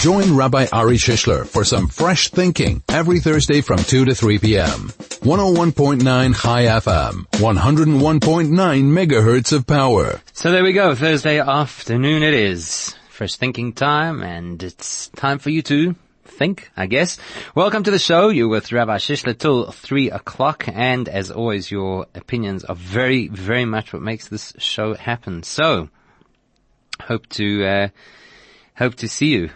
Join Rabbi Ari Shishler for some fresh thinking every Thursday from 2 to 3 p.m. 101.9 Chai FM, 101.9 megahertz of power. So there we go. Thursday afternoon it is. Fresh thinking time, and it's time for you to think, I guess. Welcome to the show. You're with Rabbi Shishler till 3 o'clock, and as always, your opinions are very, very much what makes this show happen. So, hope to see you,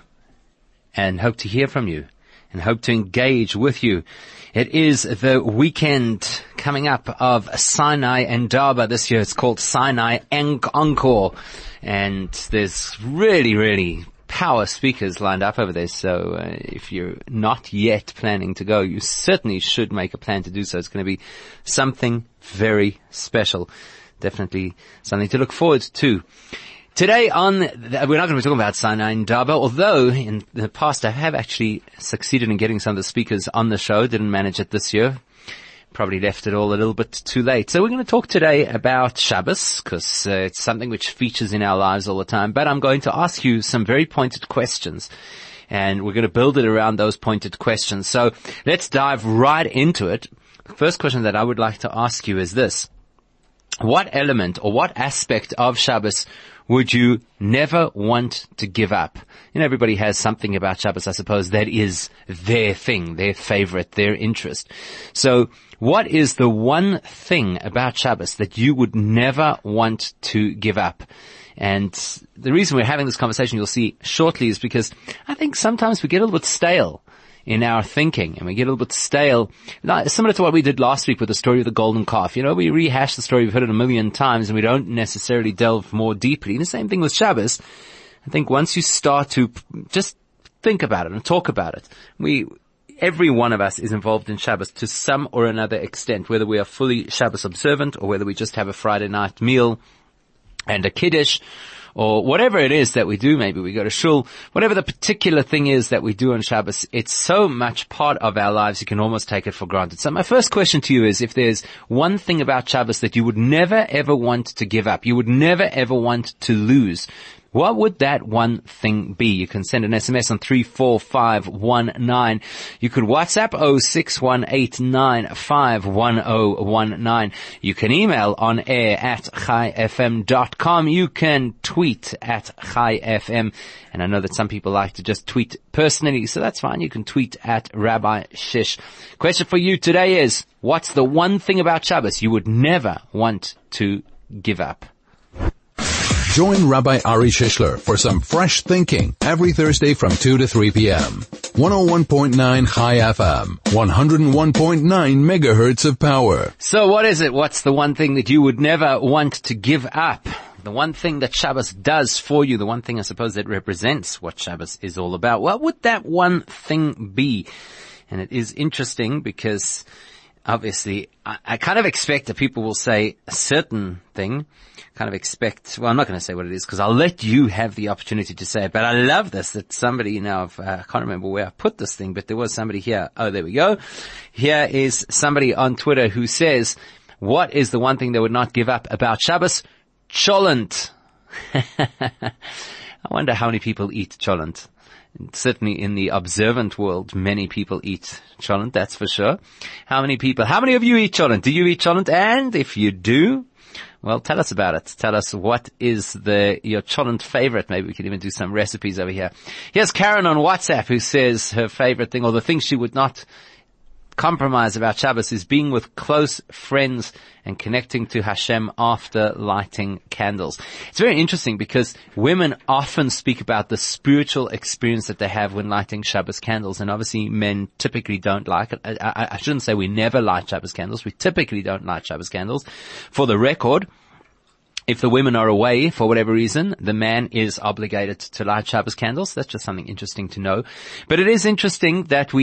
and hope to hear from you, and hope to engage with you. It is the weekend coming up of Sinai Indaba this year. It's called Sinai Encore, and there's really, really power speakers lined up over there. So if you're not yet planning to go, you certainly should make a plan to do so. It's going to be something very special. Definitely something to look forward to. Today we're not going to be talking about Sinai Indaba, although in the past I have actually succeeded in getting some of the speakers on the show. Didn't manage it this year. Probably left it all a little bit too late. So we're going to talk today about Shabbos, because it's something which features in our lives all the time. But I'm going to ask you some very pointed questions, and we're going to build it around those pointed questions. So let's dive right into it. The first question that I would like to ask you is this. What element or what aspect of Shabbos would you never want to give up? You know, everybody has something about Shabbos, I suppose, that is their thing, their favorite, their interest. So what is the one thing about Shabbos that you would never want to give up? And the reason we're having this conversation, you'll see shortly, is because I think sometimes we get a little bit stale in our thinking, and we get a little bit stale, similar to what we did last week with the story of the golden calf. You know, we rehash the story, we've heard it a million times, and we don't necessarily delve more deeply. And the same thing with Shabbos. I think once you start to just think about it and talk about it, every one of us is involved in Shabbos to some or another extent, whether we are fully Shabbos observant or whether we just have a Friday night meal and a kiddush, or whatever it is that we do. Maybe we go to shul, whatever the particular thing is that we do on Shabbos, it's so much part of our lives you can almost take it for granted. So my first question to you is, if there's one thing about Shabbos that you would never ever want to give up, you would never ever want to lose, what would that one thing be? You can send an SMS on 34519. You could WhatsApp 0618951019. You can email on air at chaifm.com. You can tweet at chaifm. And I know that some people like to just tweet personally, so that's fine. You can tweet at Rabbi Shish. Question for you today is, what's the one thing about Shabbos you would never want to give up? Join Rabbi Ari Shishler for some fresh thinking every Thursday from 2 to 3 p.m. 101.9 Chai FM, 101.9 megahertz of power. So what is it? What's the one thing that you would never want to give up? The one thing that Shabbos does for you, the one thing I suppose that represents what Shabbos is all about. What would that one thing be? And it is interesting because obviously I kind of expect that people will say a certain thing. I'm not going to say what it is because I'll let you have the opportunity to say it. But I love this, that somebody, I can't remember where I put this thing, but there was somebody here. Oh, there we go. Here is somebody on Twitter who says, what is the one thing they would not give up about Shabbos? Cholent. I wonder how many people eat cholent. Certainly in the observant world, many people eat cholent, that's for sure. How many of you eat cholent? Do you eat cholent? And if you do, well, tell us about it. Tell us what is your cholent favorite. Maybe we can even do some recipes over here. Here's Karen on WhatsApp who says her favorite thing, or the thing she would not compromise about Shabbos, is being with close friends and connecting to Hashem after lighting candles. It's very interesting because women often speak about the spiritual experience that they have when lighting Shabbos candles, and obviously men typically don't like it. I shouldn't say we never light Shabbos candles. We typically don't light Shabbos candles. For the record, if the women are away for whatever reason, the man is obligated to light Shabbos candles. That's just something interesting to know. But it is interesting that we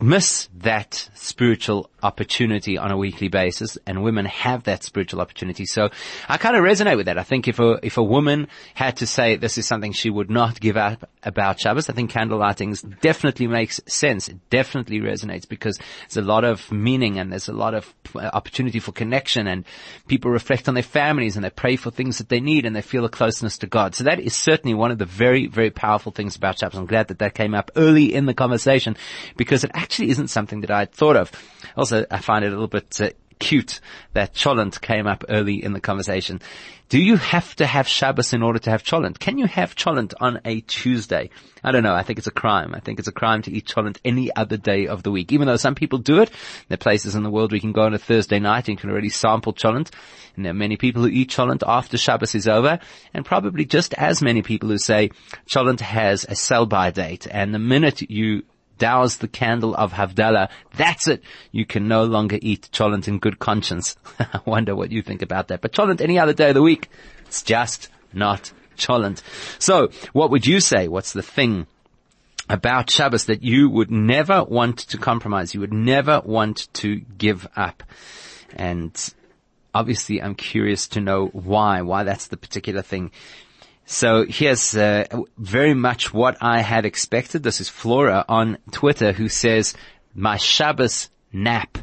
miss that spiritual opportunity on a weekly basis, and women have that spiritual opportunity. So I kind of resonate with that. I think if a woman had to say this is something she would not give up about Shabbos, I think candle lighting definitely makes sense. It definitely resonates because there's a lot of meaning and there's a lot of opportunity for connection, and people reflect on their families and they pray for things that they need and they feel a closeness to God. So that is certainly one of the very, very powerful things about Shabbos. I'm glad that came up early in the conversation because it actually isn't something that I'd thought of. Also, I find it a little bit cute that Cholent came up early in the conversation. Do you have to have Shabbos in order to have Cholent? Can you have Cholent on a Tuesday? I don't know. I think it's a crime. I think it's a crime to eat Cholent any other day of the week. Even though some people do it, there are places in the world where you can go on a Thursday night and you can already sample Cholent. And there are many people who eat Cholent after Shabbos is over, and probably just as many people who say Cholent has a sell-by date. And the minute you douse the candle of Havdalah, that's it. You can no longer eat Cholent in good conscience. I wonder what you think about that. But Cholent any other day of the week, it's just not Cholent. So, what would you say? What's the thing about Shabbos that you would never want to compromise? You would never want to give up? And obviously, I'm curious to know why that's the particular thing. So here's very much what I had expected. This is Flora on Twitter who says, my Shabbos nap.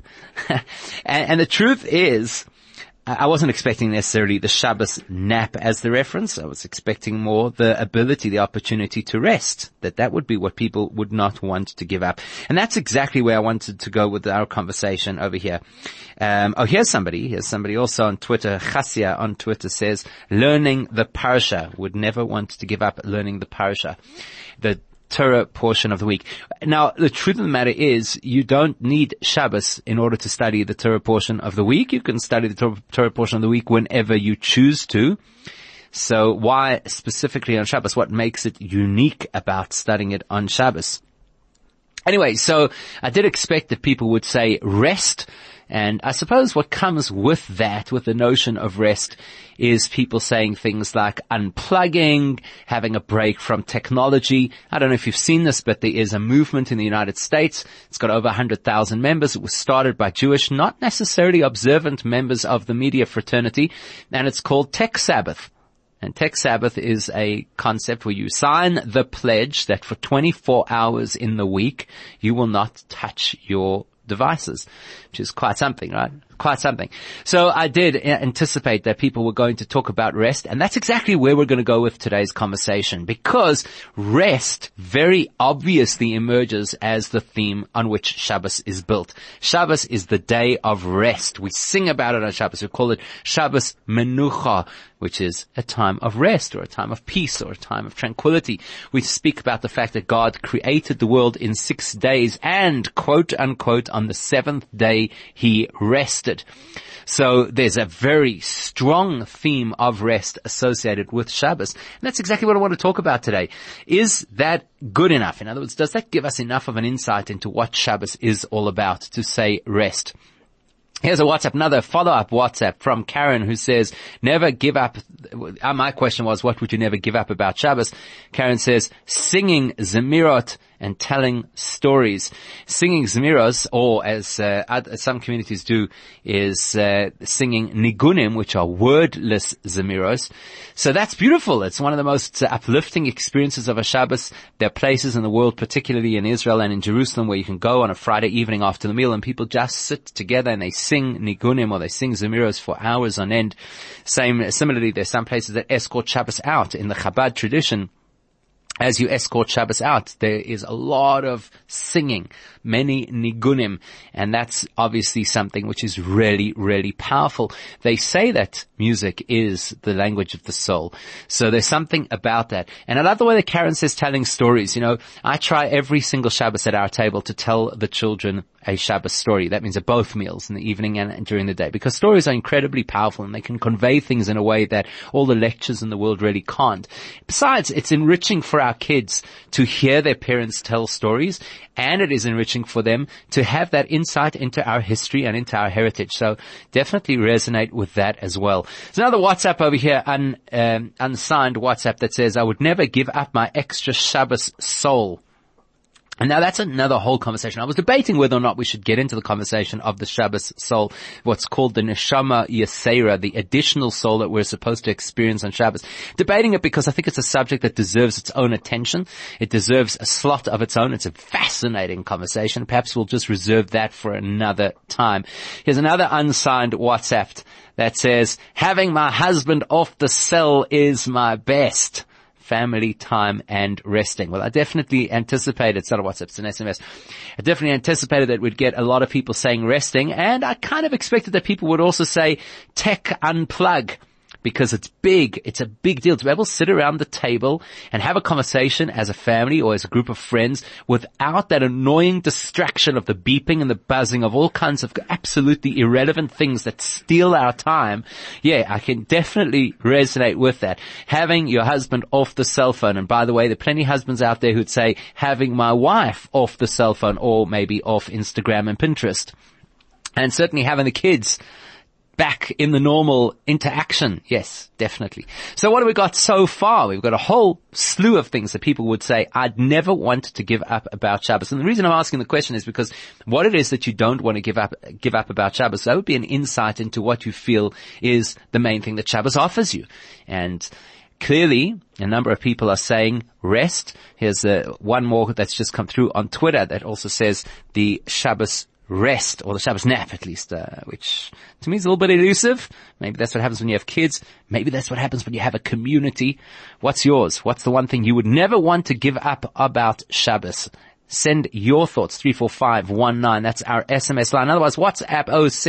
and the truth is, I wasn't expecting necessarily the Shabbos nap as the reference. I was expecting more the ability, the opportunity to rest. That would be what people would not want to give up. And that's exactly where I wanted to go with our conversation over here. Here's somebody also on Twitter. Chassia on Twitter says, learning the parasha. Would never want to give up learning the parasha. The Torah portion of the week. Now, the truth of the matter is, you don't need Shabbos in order to study the Torah portion of the week. You can study the Torah portion of the week whenever you choose to. So why specifically on Shabbos? What makes it unique about studying it on Shabbos? Anyway, so I did expect that people would say rest. And I suppose what comes with that, with the notion of rest, is people saying things like unplugging, having a break from technology. I don't know if you've seen this, but there is a movement in the United States. It's got over 100,000 members. It was started by Jewish, not necessarily observant members of the media fraternity, and it's called Tech Sabbath. And Tech Sabbath is a concept where you sign the pledge that for 24 hours in the week, you will not touch your devices, which is quite something, right? Quite something. So I did anticipate that people were going to talk about rest, and that's exactly where we're going to go with today's conversation, because rest very obviously emerges as the theme on which Shabbos is built. Shabbos is the day of rest. We sing about it on Shabbos. We call it Shabbos Menucha, which is a time of rest or a time of peace or a time of tranquility. We speak about the fact that God created the world in 6 days and, quote unquote, on the seventh day he rested. So there's a very strong theme of rest associated with Shabbos. And that's exactly what I want to talk about today. Is that good enough? In other words, does that give us enough of an insight into what Shabbos is all about to say rest? Here's a WhatsApp, another follow-up WhatsApp from Karen who says, never give up. My question was, what would you never give up about Shabbos? Karen says, singing Zemirot and telling stories. Singing Zemiros, or as some communities do, is singing Nigunim, which are wordless Zemiros. So that's beautiful. It's one of the most uplifting experiences of a Shabbos. There are places in the world, particularly in Israel and in Jerusalem, where you can go on a Friday evening after the meal and people just sit together and they sing Nigunim or they sing Zemiros for hours on end. Similarly, there's some places that escort Shabbos out in the Chabad tradition. As you escort Shabbos out, there is a lot of singing, many nigunim, and that's obviously something which is really, really powerful. They say that music is the language of the soul, so there's something about that. And I love the way that Karen says telling stories. You know, I try every single Shabbos at our table to tell the children a Shabbos story. That means at both meals, in the evening and during the day, because stories are incredibly powerful and they can convey things in a way that all the lectures in the world really can't. Besides, it's enriching for our kids to hear their parents tell stories, and it is enriching for them to have that insight into our history and into our heritage. So definitely resonate with that as well. There's another WhatsApp over here, unsigned WhatsApp, that says, I would never give up my extra Shabbos soul. And now that's another whole conversation. I was debating whether or not we should get into the conversation of the Shabbos soul, what's called the Neshama Yesera, the additional soul that we're supposed to experience on Shabbos. Debating it because I think it's a subject that deserves its own attention. It deserves a slot of its own. It's a fascinating conversation. Perhaps we'll just reserve that for another time. Here's another unsigned WhatsApp that says, having my husband off the cell is my best. Family time and resting. Well, I definitely anticipated, it's not a WhatsApp, it's an SMS. I definitely anticipated that we'd get a lot of people saying resting, and I kind of expected that people would also say tech unplug. Because it's big. It's a big deal to be able to sit around the table and have a conversation as a family or as a group of friends without that annoying distraction of the beeping and the buzzing of all kinds of absolutely irrelevant things that steal our time. Yeah, I can definitely resonate with that. Having your husband off the cell phone. And by the way, there are plenty of husbands out there who'd say having my wife off the cell phone or maybe off Instagram and Pinterest. And certainly having the kids back in the normal interaction. Yes, definitely. So what have we got so far? We've got a whole slew of things that people would say, I'd never want to give up about Shabbos. And the reason I'm asking the question is because what it is that you don't want to give up about Shabbos, that would be an insight into what you feel is the main thing that Shabbos offers you. And clearly, a number of people are saying rest. Here's one more that's just come through on Twitter that also says the Shabbos rest, or the Shabbos nap at least, which to me is a little bit elusive. Maybe that's what happens when you have kids. Maybe that's what happens when you have a community. What's yours? What's the one thing you would never want to give up about Shabbos? Send your thoughts, 34519. That's our SMS line. Otherwise, WhatsApp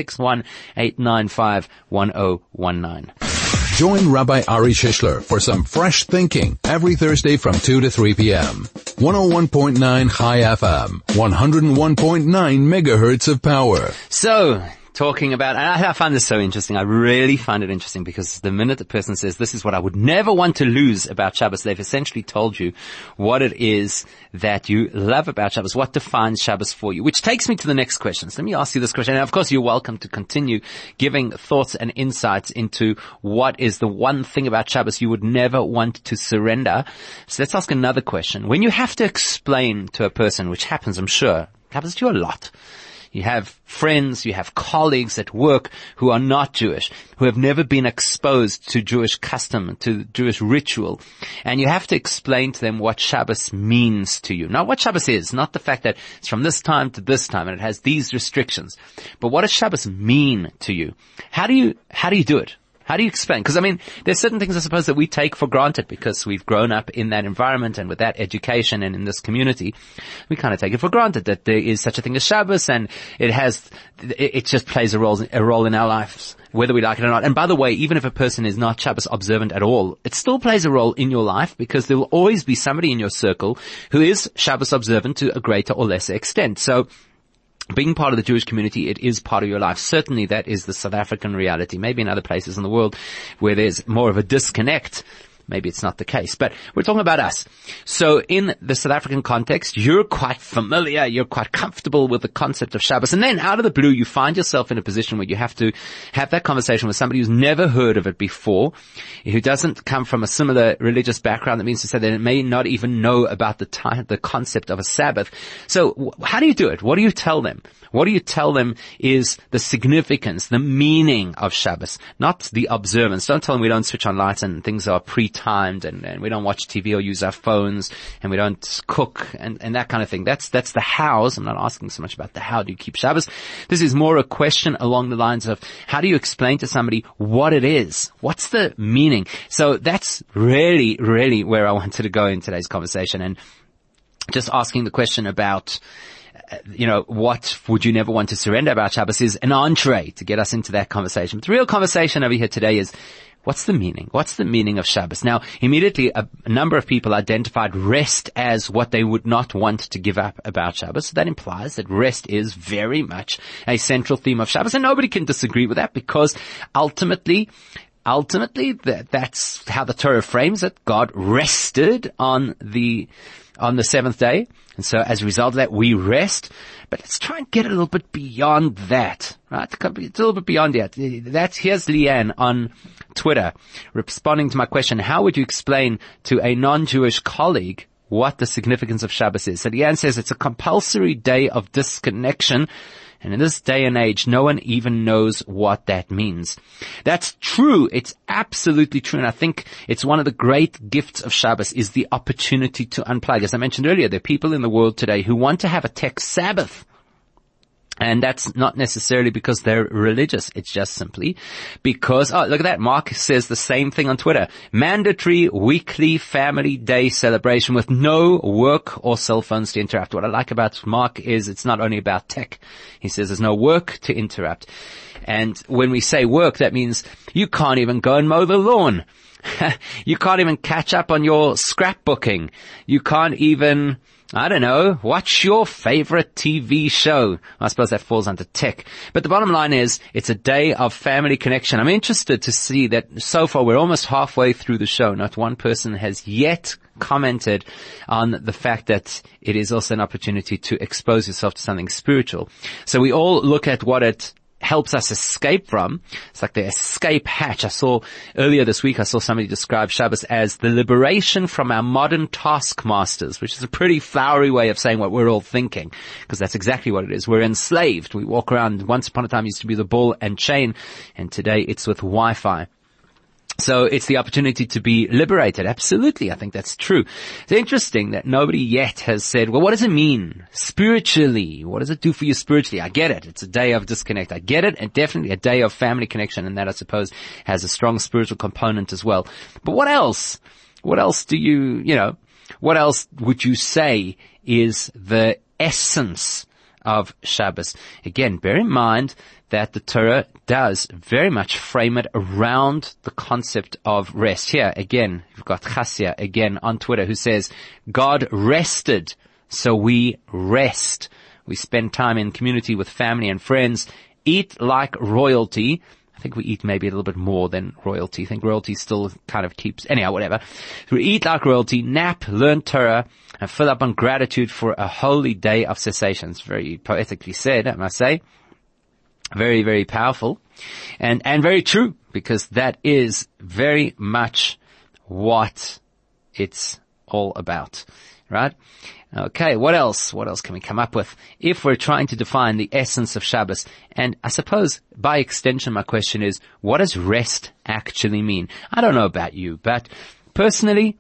061-895-1019. Join Rabbi Ari Shishler for some fresh thinking every Thursday from 2 to 3 p.m. 101.9 High FM, 101.9 megahertz of power. So, talking about, and I find this so interesting. I really find it interesting because the minute the person says, this is what I would never want to lose about Shabbos, they've essentially told you what it is that you love about Shabbos, what defines Shabbos for you, which takes me to the next question. So let me ask you this question. And of course, you're welcome to continue giving thoughts and insights into what is the one thing about Shabbos you would never want to surrender. So let's ask another question. When you have to explain to a person, which happens, I'm sure, happens to you a lot, you have friends, you have colleagues at work who are not Jewish, who have never been exposed to Jewish custom, to Jewish ritual, and you have to explain to them what Shabbos means to you. Not what Shabbos is, not the fact that it's from this time to this time and it has these restrictions, but what does Shabbos mean to you? How do you do it? How do you explain? Because, I mean, there's certain things, I suppose, that we take for granted because we've grown up in that environment and with that education and in this community. We kind of take it for granted that there is such a thing as Shabbos, and it just plays a role in our lives, whether we like it or not. And by the way, even if a person is not Shabbos observant at all, it still plays a role in your life because there will always be somebody in your circle who is Shabbos observant to a greater or lesser extent. So, being part of the Jewish community, it is part of your life. Certainly that is the South African reality. Maybe in other places in the world where there's more of a disconnect, maybe it's not the case. But we're talking about us. So in the South African context, you're quite familiar, you're quite comfortable with the concept of Shabbos. And then out of the blue, you find yourself in a position where you have to have that conversation with somebody who's never heard of it before, who doesn't come from a similar religious background. That means to say that it may not even know about the concept of a Sabbath. So how do you do it? What do you tell them? What do you tell them is the significance, the meaning of Shabbos, not the observance. Don't tell them we don't switch on lights and things are pre-timed and we don't watch TV or use our phones and we don't cook and that kind of thing. That's the hows. I'm not asking so much about the how do you keep Shabbos. This is more a question along the lines of how do you explain to somebody what it is? What's the meaning? So that's really, really where I wanted to go in today's conversation, and just asking the question about what would you never want to surrender about Shabbos is an entree to get us into that conversation. But the real conversation over here today is, what's the meaning? What's the meaning of Shabbos? Now, immediately, a number of people identified rest as what they would not want to give up about Shabbos. So that implies that rest is very much a central theme of Shabbos. And nobody can disagree with that because ultimately, that's how the Torah frames it. God rested on the seventh day. And so as a result of that, we rest. But let's try and get a little bit beyond that, right? It's a little bit beyond that. Here's Leanne on Twitter responding to my question. How would you explain to a non-Jewish colleague what the significance of Shabbos is. So Leanne says it's a compulsory day of disconnection. And in this day and age, no one even knows what that means. That's true. It's absolutely true. And I think it's one of the great gifts of Shabbos is the opportunity to unplug. As I mentioned earlier, there are people in the world today who want to have a tech Sabbath. And that's not necessarily because they're religious. It's just simply because, oh, look at that. Mark says the same thing on Twitter. Mandatory weekly family day celebration with no work or cell phones to interrupt. What I like about Mark is it's not only about tech. He says there's no work to interrupt. And when we say work, that means you can't even go and mow the lawn. You can't even catch up on your scrapbooking. You can't even, I don't know, watch your favorite TV show. I suppose that falls under tech. But the bottom line is, it's a day of family connection. I'm interested to see that so far we're almost halfway through the show. Not one person has yet commented on the fact that it is also an opportunity to expose yourself to something spiritual. So we all look at what it helps us escape from. It's like the escape hatch. Earlier this week, I saw somebody describe Shabbos as the liberation from our modern taskmasters, which is a pretty flowery way of saying what we're all thinking, because that's exactly what it is. We're enslaved. We walk around. Once upon a time, it used to be the ball and chain, and today it's with Wi-Fi. So it's the opportunity to be liberated. Absolutely. I think that's true. It's interesting that nobody yet has said, well, what does it mean spiritually? What does it do for you spiritually? I get it. It's a day of disconnect. I get it. And definitely a day of family connection. And that, I suppose, has a strong spiritual component as well. But what else? What else what else would you say is the essence of Shabbos? Again, bear in mind that the Torah does very much frame it around the concept of rest. Here, again, you've got Chassia again on Twitter who says, God rested, so we rest. We spend time in community with family and friends, eat like royalty. I think we eat maybe a little bit more than royalty. I think royalty still kind of keeps, anyhow, whatever. We eat like royalty, nap, learn Torah, and fill up on gratitude for a holy day of cessation. It's very poetically said, I must say. Very, very powerful and very true, because that is very much what it's all about, right? Okay, what else? What else can we come up with if we're trying to define the essence of Shabbos? And I suppose by extension, my question is, what does rest actually mean? I don't know about you, but personally,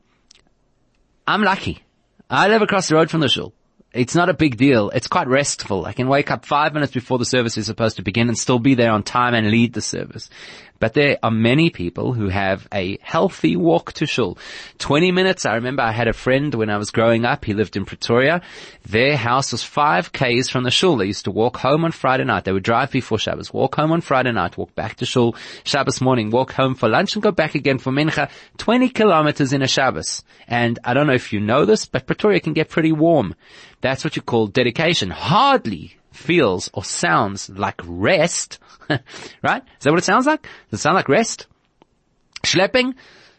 I'm lucky. I live across the road from the shul. It's not a big deal. It's quite restful. I can wake up 5 minutes before the service is supposed to begin and still be there on time and lead the service. But there are many people who have a healthy walk to shul. 20 minutes. I remember I had a friend when I was growing up. He lived in Pretoria. Their house was 5 k's from the shul. They used to walk home on Friday night. They would drive before Shabbos, walk home on Friday night, walk back to shul Shabbos morning, walk home for lunch and go back again for mincha. 20 kilometers in a Shabbos. And I don't know if you know this, but Pretoria can get pretty warm. That's what you call dedication. Hardly feels or sounds like rest, right? Is that what it sounds like? Does it sound like rest? Schlepping?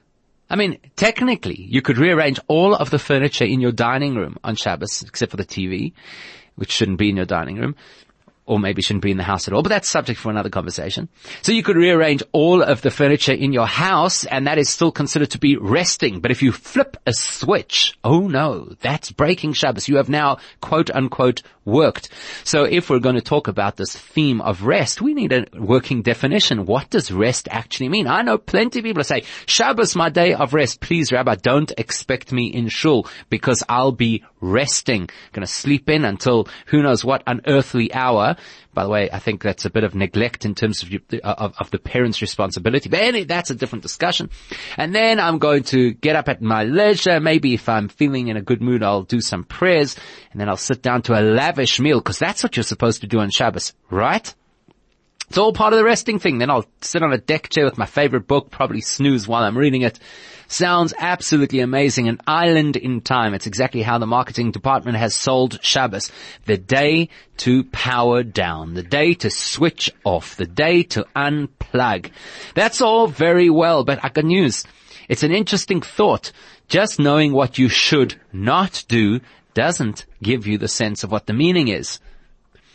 I mean, technically, you could rearrange all of the furniture in your dining room on Shabbos, except for the TV, which shouldn't be in your dining room, or maybe shouldn't be in the house at all, but that's subject for another conversation. So you could rearrange all of the furniture in your house, and that is still considered to be resting. But if you flip a switch, oh no, that's breaking Shabbos. You have now, quote unquote, worked. So if we're going to talk about this theme of rest, we need a working definition. What does rest actually mean? I know plenty of people who say, Shabbos, my day of rest. Please, Rabbi, don't expect me in shul because I'll be resting. Going to sleep in until who knows what unearthly hour. By the way, I think that's a bit of neglect in terms of the parents' responsibility. But anyway, that's a different discussion. And then I'm going to get up at my leisure. Maybe if I'm feeling in a good mood, I'll do some prayers. And then I'll sit down to a lavish meal, because that's what you're supposed to do on Shabbos, right? It's all part of the resting thing. Then I'll sit on a deck chair with my favorite book, probably snooze while I'm reading it. Sounds absolutely amazing. An island in time. It's exactly how the marketing department has sold Shabbos. The day to power down. The day to switch off. The day to unplug. That's all very well, but I got news. It's an interesting thought. Just knowing what you should not do doesn't give you the sense of what the meaning is.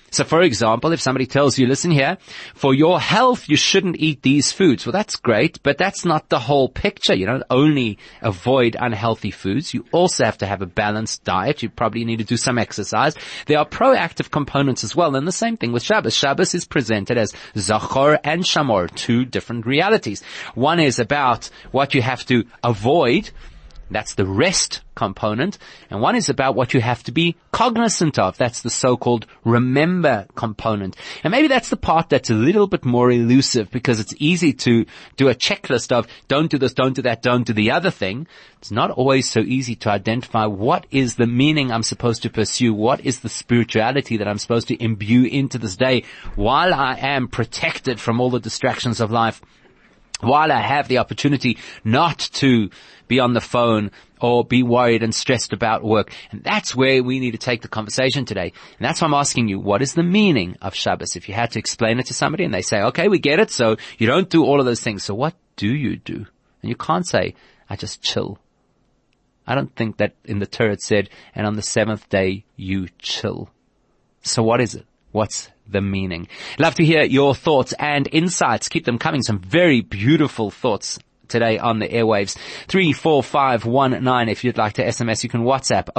So for example, if somebody tells you, listen here, for your health, you shouldn't eat these foods. Well, that's great, but that's not the whole picture. You don't only avoid unhealthy foods. You also have to have a balanced diet. You probably need to do some exercise. There are proactive components as well. And the same thing with Shabbos. Shabbos is presented as Zachor and Shamor, two different realities. One is about what you have to avoid. That's the rest component. And one is about what you have to be cognizant of. That's the so-called remember component. And maybe that's the part that's a little bit more elusive, because it's easy to do a checklist of don't do this, don't do that, don't do the other thing. It's not always so easy to identify what is the meaning I'm supposed to pursue, what is the spirituality that I'm supposed to imbue into this day while I am protected from all the distractions of life, while I have the opportunity not to be on the phone or be worried and stressed about work. And that's where we need to take the conversation today. And that's why I'm asking you, what is the meaning of Shabbos? If you had to explain it to somebody and they say, okay, we get it, so you don't do all of those things. So what do you do? And you can't say, I just chill. I don't think that in the Torah it said, and on the seventh day you chill. So what is it? What's the meaning? Love to hear your thoughts and insights. Keep them coming. Some very beautiful thoughts today on the airwaves. 34519. If you'd like to SMS, you can WhatsApp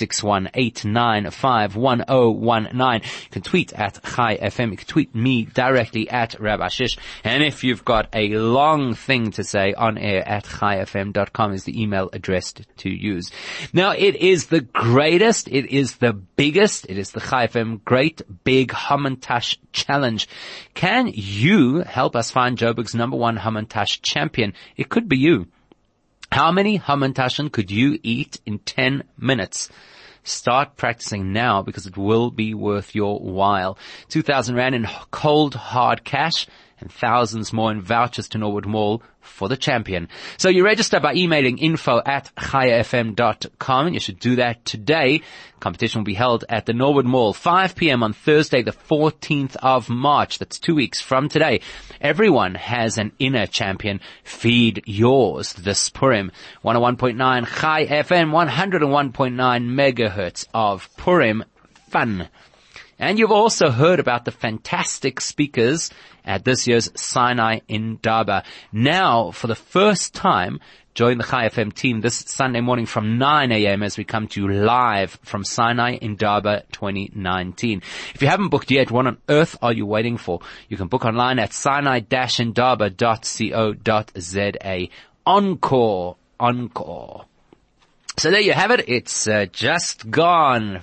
06189511019. You can tweet at Chai FM. You can tweet me directly at Rabbi Shish. And if you've got a long thing to say, on air at chaifm.com is the email address to use. Now, it is the greatest, it is the biggest, it is the Chai FM Great Big Hamantash Challenge. Can you help us find Joburg's #1 Hamantash champion? It could be you. How many Hamantashen could you eat in 10 minutes? Start practicing now, because it will be worth your while. 2,000 Rand in cold hard cash and thousands more in vouchers to Norwood Mall for the champion. So you register by emailing info@chaifm.com, and you should do that today. Competition will be held at the Norwood Mall, 5 p.m. on Thursday, the 14th of March. That's 2 weeks from today. Everyone has an inner champion. Feed yours this Purim. 101.9 Chai FM, 101.9 megahertz of Purim fun. And you've also heard about the fantastic speakers at this year's Sinai in Daba. Now, for the first time, join the Chai FM team this Sunday morning from 9 a.m. as we come to you live from Sinai in Daba 2019. If you haven't booked yet, what on earth are you waiting for? You can book online at sinai-indaba.co.za. Encore. So there you have it. It's just gone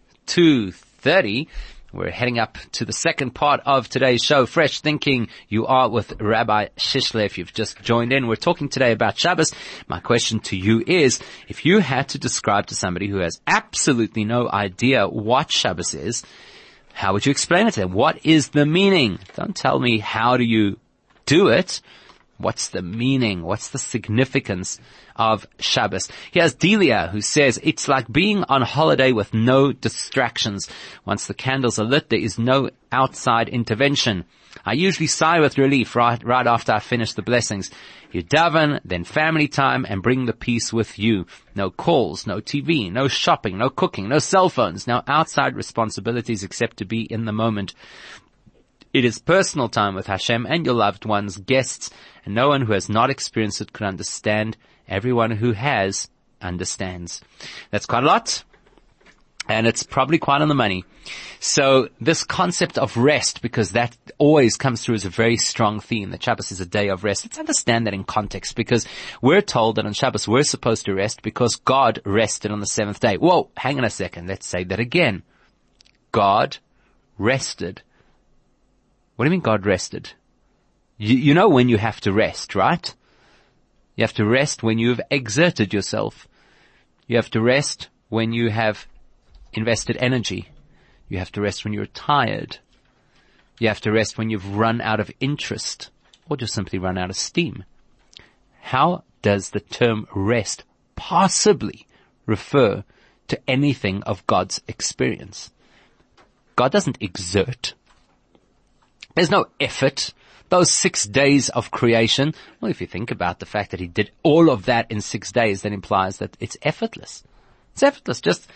2:30. We're heading up to the second part of today's show, Fresh Thinking. You are with Rabbi Shishler. If you've just joined in, we're talking today about Shabbos. My question to you is, if you had to describe to somebody who has absolutely no idea what Shabbos is, how would you explain it to them? What is the meaning? Don't tell me how do you do it. What's the meaning? What's the significance of Shabbos? Here's Delia, who says, it's like being on holiday with no distractions. Once the candles are lit, there is no outside intervention. I usually sigh with relief right after I finish the blessings. You daven, then family time, and bring the peace with you. No calls, no TV, no shopping, no cooking, no cell phones, no outside responsibilities except to be in the moment. It is personal time with Hashem and your loved ones, guests, and no one who has not experienced it could understand. Everyone who has understands. That's quite a lot, and it's probably quite on the money. So this concept of rest, because that always comes through as a very strong theme, that Shabbos is a day of rest. Let's understand that in context, because we're told that on Shabbos we're supposed to rest because God rested on the seventh day. Whoa, hang on a second. Let's say that again. God rested. What do you mean God rested? You know when you have to rest, right? You have to rest when you've exerted yourself. You have to rest when you have invested energy. You have to rest when you're tired. You have to rest when you've run out of interest or just simply run out of steam. How does the term rest possibly refer to anything of God's experience? God doesn't exert. There's no effort. Those 6 days of creation, well, if you think about the fact that he did all of that in 6 days, that implies that it's effortless. It's effortless. Just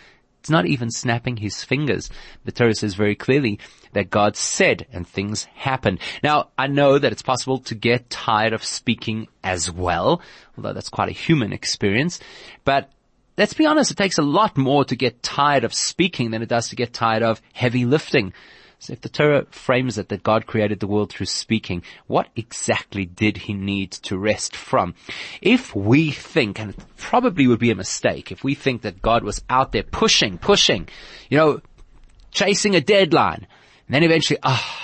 It's not even snapping his fingers. The Torah says very clearly that God said and things happened. Now, I know that it's possible to get tired of speaking as well, although that's quite a human experience. But let's be honest, it takes a lot more to get tired of speaking than it does to get tired of heavy lifting. So if the Torah frames it that God created the world through speaking, what exactly did he need to rest from? If we think, and it probably would be a mistake, if we think that God was out there pushing, chasing a deadline, and then eventually,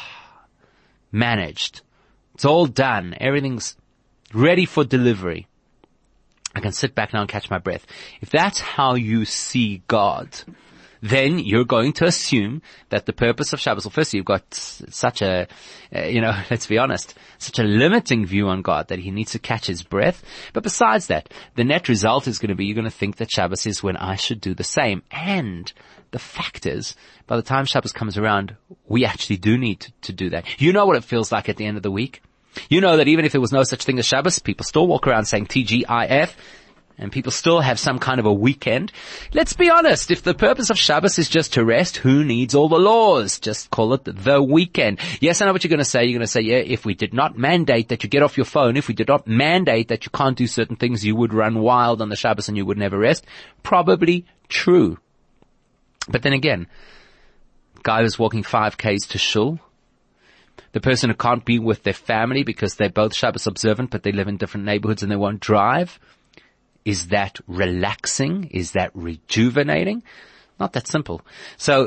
managed. It's all done. Everything's ready for delivery. I can sit back now and catch my breath. If that's how you see God, then you're going to assume that the purpose of Shabbos, well, firstly, you've got such a, let's be honest, such a limiting view on God that he needs to catch his breath. But besides that, the net result is going to be you're going to think that Shabbos is when I should do the same. And the fact is, by the time Shabbos comes around, we actually do need to do that. You know what it feels like at the end of the week. You know that even if there was no such thing as Shabbos, people still walk around saying TGIF. And people still have some kind of a weekend. Let's be honest, if the purpose of Shabbos is just to rest, who needs all the laws? Just call it the weekend. Yes, I know what you're going to say. You're going to say, yeah, if we did not mandate that you get off your phone, if we did not mandate that you can't do certain things, you would run wild on the Shabbos and you would never rest. Probably true. But then again, guy who's walking 5Ks to shul, the person who can't be with their family because they're both Shabbos observant, but they live in different neighborhoods and they won't drive. Is that relaxing? Is that rejuvenating? Not that simple. So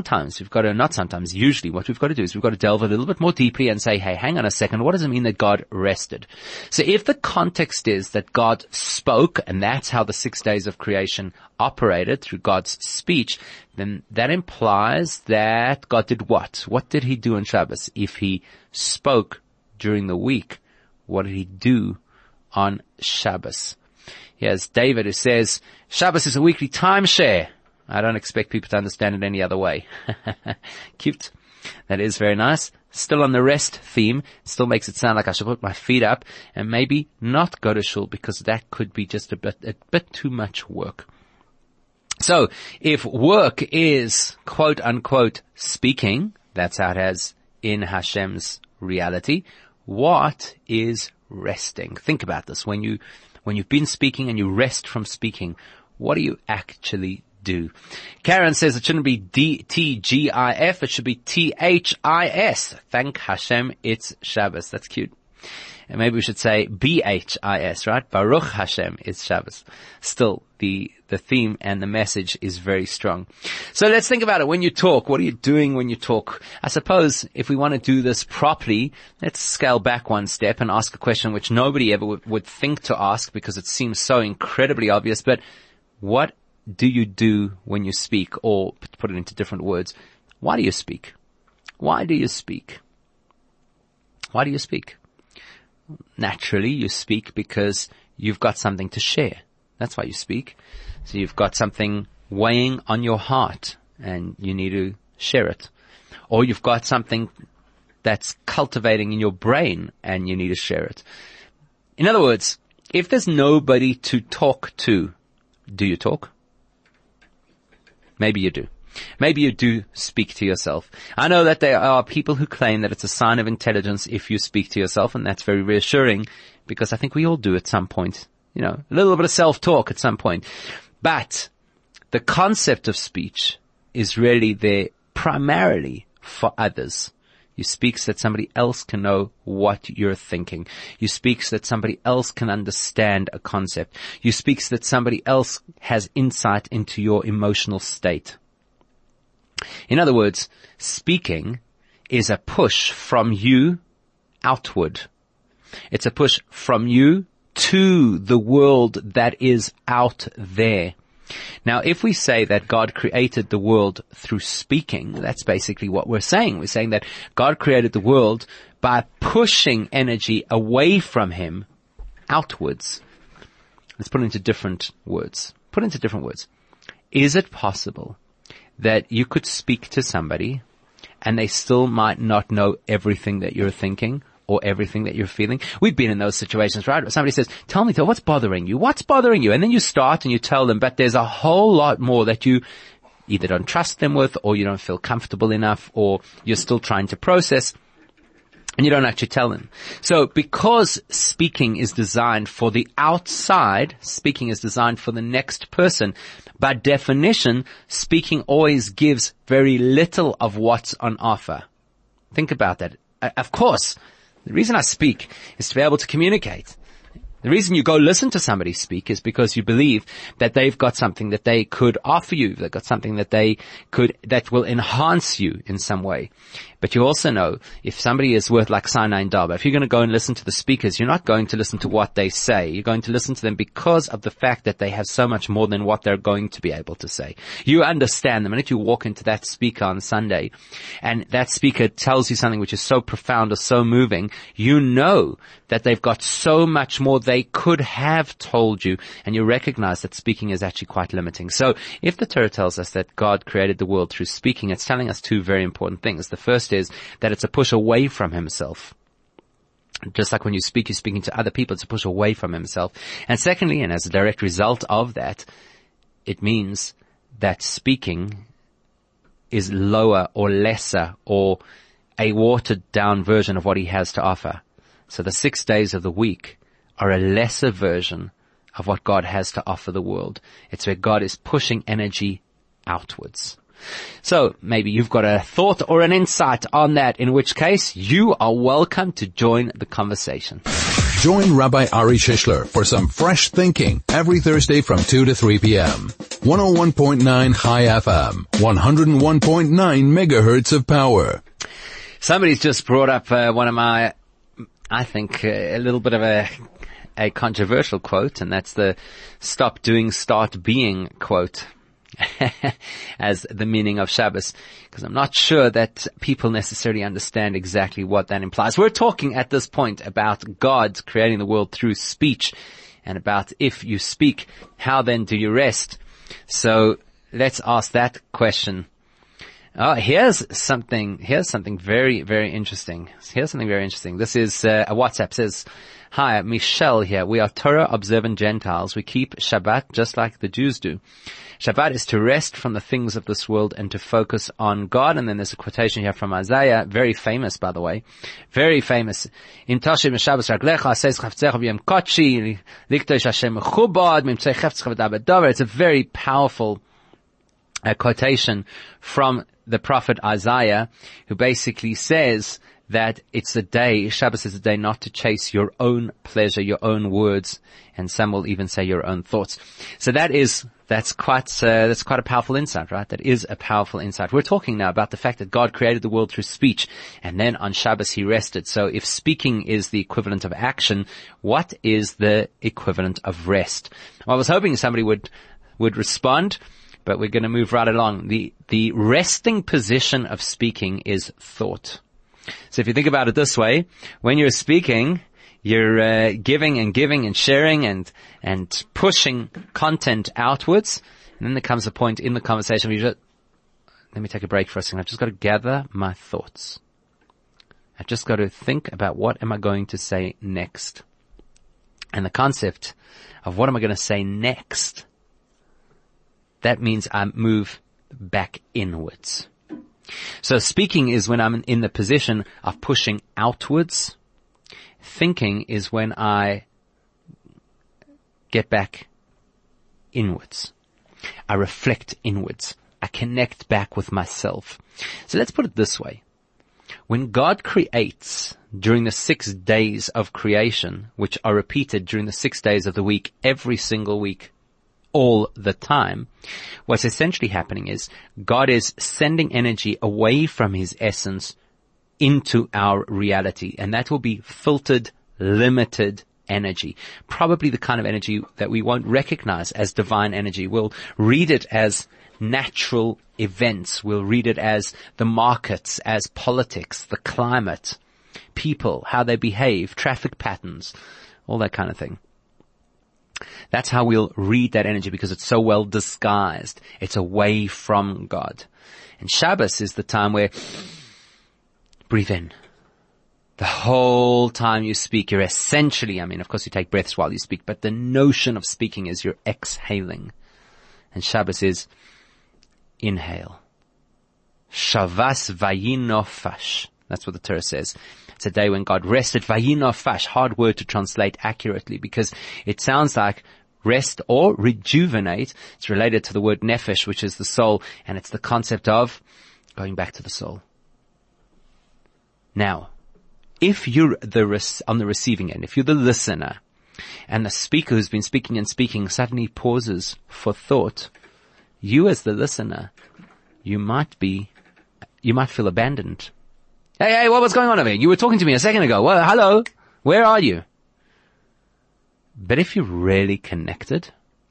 usually what we've got to do is we've got to delve a little bit more deeply and say, hey, hang on a second, what does it mean that God rested? So if the context is that God spoke, and that's how the 6 days of creation operated through God's speech, then that implies that God did what? What did he do on Shabbos? If he spoke during the week, what did he do on Shabbos? Here's David who says, Shabbos is a weekly timeshare. I don't expect people to understand it any other way. Cute. That is very nice. Still on the rest theme. Still makes it sound like I should put my feet up and maybe not go to shul because that could be just a bit too much work. So if work is quote unquote speaking, that's how it has in Hashem's reality, what is resting? Think about this. When you've been speaking and you rest from speaking, what do you actually do? Karen says it shouldn't be TGIF, it should be THIS. Thank Hashem, it's Shabbos. That's cute. And maybe we should say BHIS, right? Baruch Hashem, it's Shabbos. Still, the theme and the message is very strong. So let's think about it. When you talk, what are you doing when you talk? I suppose if we want to do this properly, let's scale back one step and ask a question which nobody ever would think to ask because it seems so incredibly obvious. But what do you do when you speak? Or to put it into different words, why do you speak? Why do you speak? Why do you speak? Naturally, you speak because you've got something to share. That's why you speak. So you've got something weighing on your heart and you need to share it. Or you've got something that's cultivating in your brain and you need to share it. In other words, if there's nobody to talk to, do you talk? Maybe you do. Maybe you do speak to yourself. I know that there are people who claim that it's a sign of intelligence if you speak to yourself, and that's very reassuring because I think we all do at some point. A little bit of self-talk at some point. But the concept of speech is really there primarily for others. You speak so that somebody else can know what you're thinking. You speak so that somebody else can understand a concept. You speak so that somebody else has insight into your emotional state. In other words, speaking is a push from you outward. It's a push from you to the world that is out there. Now, if we say that God created the world through speaking, that's basically what we're saying. We're saying that God created the world by pushing energy away from him outwards. Let's put it into different words. Is it possible that you could speak to somebody and they still might not know everything that you're thinking or everything that you're feeling? We've been in those situations, right? Somebody says, tell me, what's bothering you? What's bothering you? And then you start and you tell them, but there's a whole lot more that you either don't trust them with, or you don't feel comfortable enough, or you're still trying to process, and you don't actually tell them. So because speaking is designed for the outside, speaking is designed for the next person, by definition, speaking always gives very little of what's on offer. Think about that. Of course, the reason I speak is to be able to communicate. The reason you go listen to somebody speak is because you believe that they've got something that they could offer you. They've got something that that will enhance you in some way. But you also know if somebody is worth like Sinai and Daba, if you're going to go and listen to the speakers, you're not going to listen to what they say. You're going to listen to them because of the fact that they have so much more than what they're going to be able to say. You understand them. And if you walk into that speaker on Sunday and that speaker tells you something which is so profound or so moving, you know that they've got so much more they could have told you, and you recognize that speaking is actually quite limiting. So if the Torah tells us that God created the world through speaking, it's telling us two very important things. The first is that it's a push away from himself. Just like when you speak, you're speaking to other people, it's a push away from himself. And secondly, and as a direct result of that, it means that speaking is lower or lesser or a watered down version of what he has to offer. So the 6 days of the week are a lesser version of what God has to offer the world. It's where God is pushing energy outwards. So maybe you've got a thought or an insight on that, in which case you are welcome to join the conversation. Join Rabbi Ari Shishler for some fresh thinking every Thursday from 2 to 3 p.m. 101.9 High FM, 101.9 megahertz of power. Somebody's just brought up one of my, I think, a little bit of a controversial quote, and that's the stop doing, start being quote as the meaning of Shabbos, because I'm not sure that people necessarily understand exactly what that implies. We're talking at this point about God creating the world through speech, and about if you speak, how then do you rest? So let's ask that question. Oh, here's something very, very interesting. This is a WhatsApp. Says, "Hi, Michelle here. We are Torah observant Gentiles. We keep Shabbat just like the Jews do. Shabbat is to rest from the things of this world and to focus on God." And then there's a quotation here from Isaiah, very famous, by the way. Very famous. "Im tashiv Shabbos raglecha, says chavtzecha v'yem kotshi, liktosh Hashem mechubad, mimtzei chavtzecha v'daber." It's a very powerful quotation from the prophet Isaiah, who basically says that it's a day, Shabbos is a day not to chase your own pleasure, your own words, and some will even say your own thoughts. So that's quite a powerful insight, right? That is a powerful insight. We're talking now about the fact that God created the world through speech, and then on Shabbos he rested. So if speaking is the equivalent of action, what is the equivalent of rest? Well, I was hoping somebody would respond, but we're going to move right along. The resting position of speaking is thought. So if you think about it this way, when you're speaking, you're giving and sharing and pushing content outwards. And then there comes a point in the conversation where you just, let me take a break for a second. I've just got to gather my thoughts. I've just got to think about what am I going to say next. And the concept of what am I going to say next, that means I move back inwards. So speaking is when I'm in the position of pushing outwards. Thinking is when I get back inwards. I reflect inwards. I connect back with myself. So let's put it this way. When God creates during the 6 days of creation, which are repeated during the 6 days of the week, every single week, all the time, what's essentially happening is God is sending energy away from his essence into our reality, and that will be filtered, limited energy, probably the kind of energy that we won't recognize as divine energy. We'll read it as natural events. We'll read it as the markets, as politics, the climate, people, how they behave, traffic patterns, all that kind of thing. That's how we'll read that energy, because it's so well disguised. It's away from God. And Shabbos is the time where breathe in. The whole time you speak, you're essentially, of course you take breaths while you speak, but the notion of speaking is you're exhaling. And Shabbos is inhale. Shavas vayinofash. That's what the Torah says. It's a day when God rested. Vayinofash, hard word to translate accurately because it sounds like rest or rejuvenate. It's related to the word nefesh, which is the soul, and it's the concept of going back to the soul. Now, if you're on the receiving end, if you're the listener, and the speaker who's been speaking and speaking suddenly pauses for thought, you as the listener, you might feel abandoned. Hey, what was going on over here? You were talking to me a second ago. Well, hello, where are you? But if you're really connected,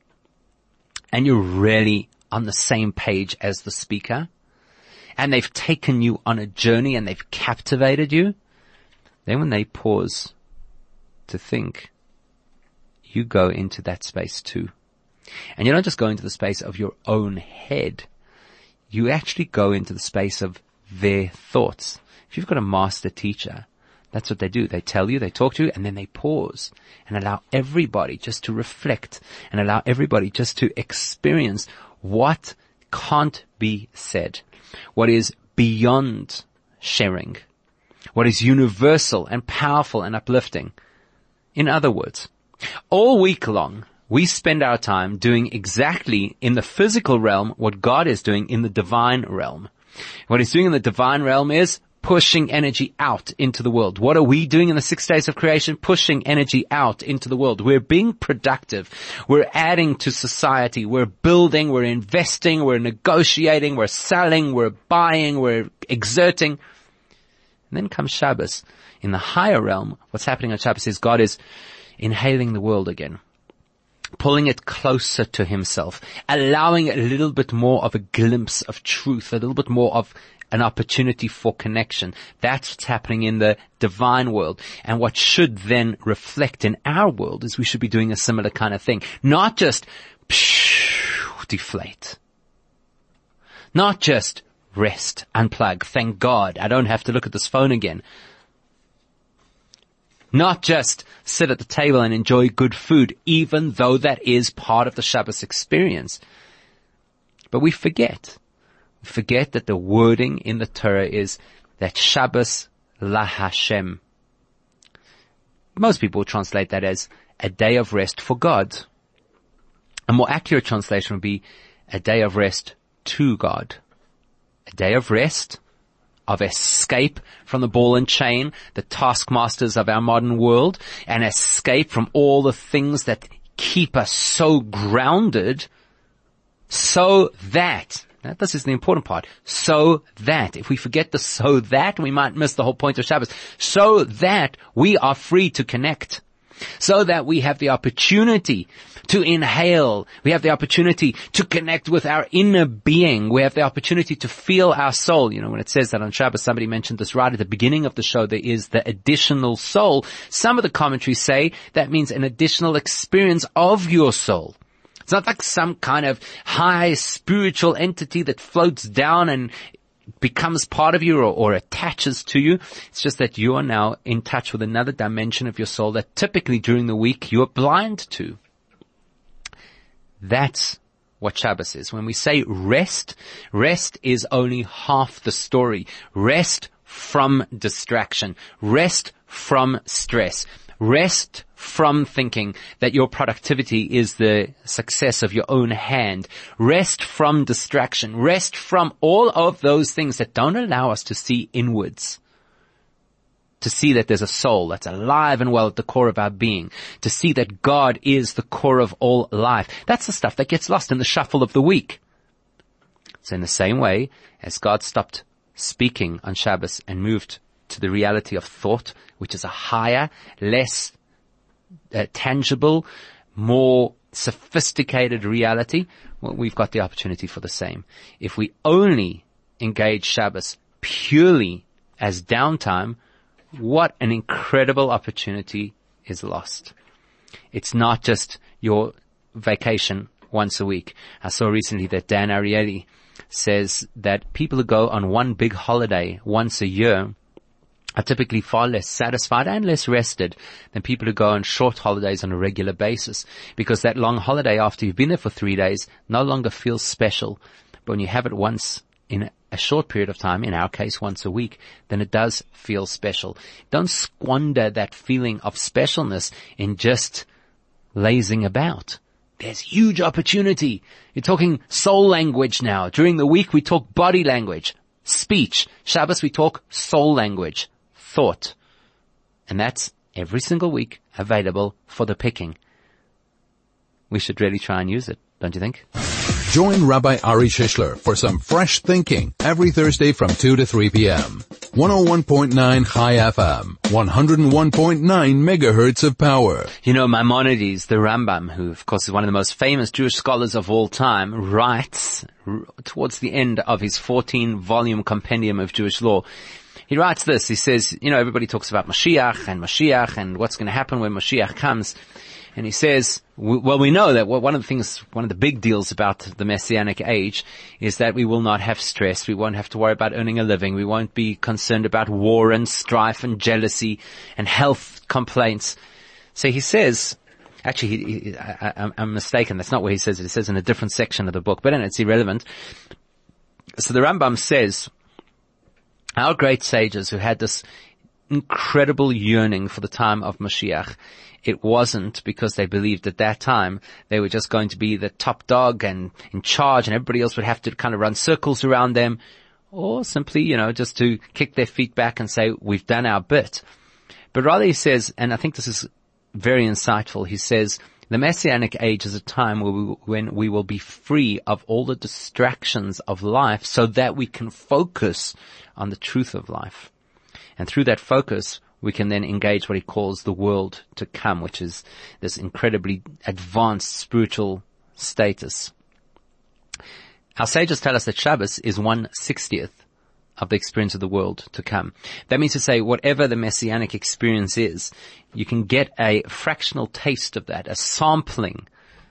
and you're really on the same page as the speaker, and they've taken you on a journey and they've captivated you, then when they pause to think, you go into that space too. And you don't just go into the space of your own head. You actually go into the space of their thoughts. If you've got a master teacher, that's what they do. They tell you, they talk to you, and then they pause and allow everybody just to reflect and allow everybody just to experience what can't be said, what is beyond sharing, what is universal and powerful and uplifting. In other words, all week long, we spend our time doing exactly in the physical realm what God is doing in the divine realm. What He's doing in the divine realm is pushing energy out into the world. What are we doing in the 6 days of creation? Pushing energy out into the world. We're being productive. We're adding to society. We're building. We're investing. We're negotiating. We're selling. We're buying. We're exerting. And then comes Shabbos. In the higher realm, what's happening on Shabbos is God is inhaling the world again, pulling it closer to Himself, allowing a little bit more of a glimpse of truth, a little bit more of an opportunity for connection. That's what's happening in the divine world. And what should then reflect in our world is we should be doing a similar kind of thing. Not just deflate. Not just rest, unplug. Thank God I don't have to look at this phone again. Not just sit at the table and enjoy good food, even though that is part of the Shabbos experience. But we forget that the wording in the Torah is that Shabbos la Hashem. Most people translate that as a day of rest for God. A more accurate translation would be a day of rest to God. A day of rest, of escape from the ball and chain, the taskmasters of our modern world, and escape from all the things that keep us so grounded, so that, this is the important part, so that, if we forget the so that, we might miss the whole point of Shabbos, so that we are free to connect, so that we have the opportunity to inhale, we have the opportunity to connect with our inner being, we have the opportunity to feel our soul. You know, when it says that on Shabbos, somebody mentioned this right at the beginning of the show, there is the additional soul. Some of the commentaries say that means an additional experience of your soul. It's not like some kind of high spiritual entity that floats down and becomes part of you or attaches to you. It's just that you are now in touch with another dimension of your soul that typically during the week you are blind to. That's what Shabbos is. When we say rest, rest is only half the story. Rest from distraction. Rest from stress. Rest from thinking that your productivity is the success of your own hand. Rest from distraction. Rest from all of those things that don't allow us to see inwards. To see that there's a soul that's alive and well at the core of our being. To see that God is the core of all life. That's the stuff that gets lost in the shuffle of the week. So in the same way as God stopped speaking on Shabbos and moved to the reality of thought, which is a higher, less tangible, more sophisticated reality, well, we've got the opportunity for the same. If we only engage Shabbos purely as downtime, what an incredible opportunity is lost. It's not just your vacation once a week. I saw recently that Dan Ariely says that people who go on one big holiday once a year are typically far less satisfied and less rested than people who go on short holidays on a regular basis, because that long holiday after you've been there for 3 days no longer feels special, But when you have it once in a short period of time, in our case once a week, then it does feel special. Don't squander that feeling of specialness in just lazing about. There's huge opportunity. You're talking soul language now. During the week we talk body language, speech. Shabbos we talk soul language, thought. And that's every single week available for the picking. We should really try and use it, don't you think? Join Rabbi Ari Shishler for some fresh thinking every Thursday from 2 to 3 p.m. 101.9 Chai FM, 101.9 megahertz of power. You know, Maimonides, the Rambam, who of course is one of the most famous Jewish scholars of all time, writes towards the end of his 14-volume compendium of Jewish law. He writes this. He says, you know, everybody talks about Mashiach and what's going to happen when Mashiach comes. And he says, well, we know that one of the big deals about the Messianic age is that we will not have stress. We won't have to worry about earning a living. We won't be concerned about war and strife and jealousy and health complaints. So he says, actually, I'm mistaken. That's not where he says it. It says in a different section of the book, but it's irrelevant. So the Rambam says, our great sages who had this incredible yearning for the time of Mashiach, it wasn't because they believed at that time they were just going to be the top dog and in charge and everybody else would have to kind of run circles around them, or simply, you know, just to kick their feet back and say, we've done our bit. But rather he says, and I think this is very insightful, he says, the Messianic age is a time when we will be free of all the distractions of life so that we can focus on the truth of life. And through that focus, we can then engage what he calls the world to come, which is this incredibly advanced spiritual status. Our sages tell us that Shabbos is 1/60th of the experience of the world to come. That means to say, whatever the Messianic experience is, you can get a fractional taste of that, a sampling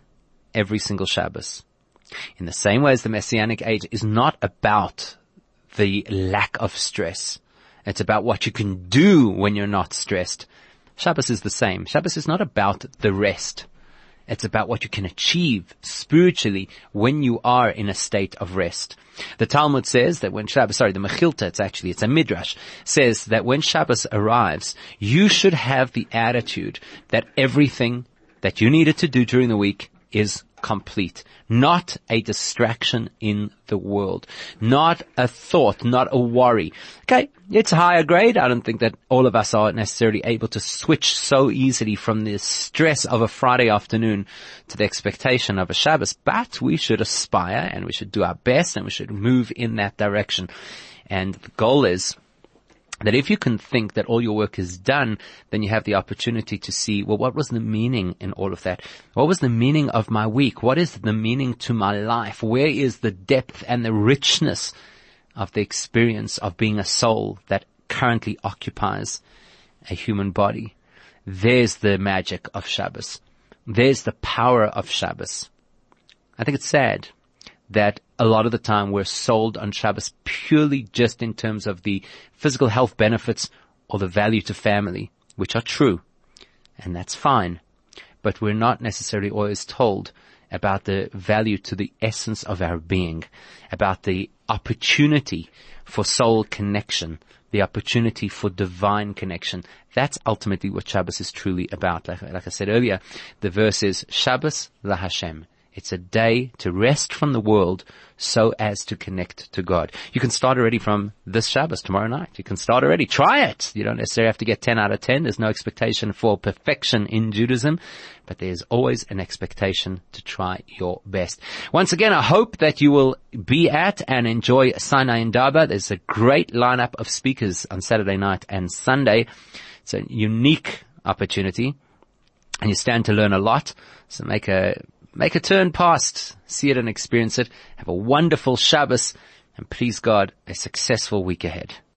every single Shabbos. In the same way as the Messianic age is not about the lack of stress. It's about what you can do when you're not stressed. Shabbos is the same. Shabbos is not about the rest. It's about what you can achieve spiritually when you are in a state of rest. The Talmud says that when Shabbos, the Mechilta, it's a Midrash, says that when Shabbos arrives, you should have the attitude that everything that you needed to do during the week is complete. Not a distraction in the world. Not a thought, not a worry. Okay, it's higher grade. I don't think that all of us are necessarily able to switch so easily from the stress of a Friday afternoon to the expectation of a Shabbos, but we should aspire and we should do our best and we should move in that direction. And the goal is that if you can think that all your work is done, then you have the opportunity to see, well, what was the meaning in all of that? What was the meaning of my week? What is the meaning to my life? Where is the depth and the richness of the experience of being a soul that currently occupies a human body? There's the magic of Shabbos. There's the power of Shabbos. I think it's sad that a lot of the time we're sold on Shabbos purely just in terms of the physical health benefits or the value to family, which are true, and that's fine. But we're not necessarily always told about the value to the essence of our being, about the opportunity for soul connection, the opportunity for divine connection. That's ultimately what Shabbos is truly about. Like I said earlier, the verse is Shabbos la Hashem. It's a day to rest from the world so as to connect to God. You can start already from this Shabbos, tomorrow night. You can start already. Try it. You don't necessarily have to get 10 out of 10. There's no expectation for perfection in Judaism, but there's always an expectation to try your best. Once again, I hope that you will be at and enjoy Sinai Indaba. There's a great lineup of speakers on Saturday night and Sunday. It's a unique opportunity, and you stand to learn a lot. So make a turn past, see it and experience it. Have a wonderful Shabbos, and please God, a successful week ahead.